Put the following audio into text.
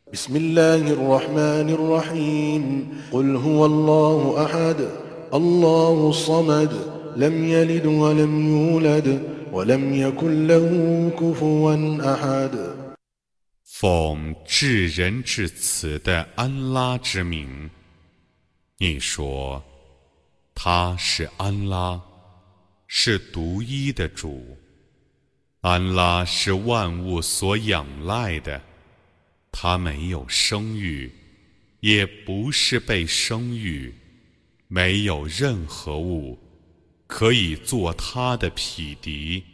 بسم الله الرحمن الرحيم قل هو الله أحد الله الصمد لم يلد ولم يولد ولم يكن له كفوا أحد 奉至仁至慈的安拉之名，你说，他是安拉，是独一的主。安拉是万物所仰赖的，他没有生育，也不是被生育，没有任何物可以做他的匹敌。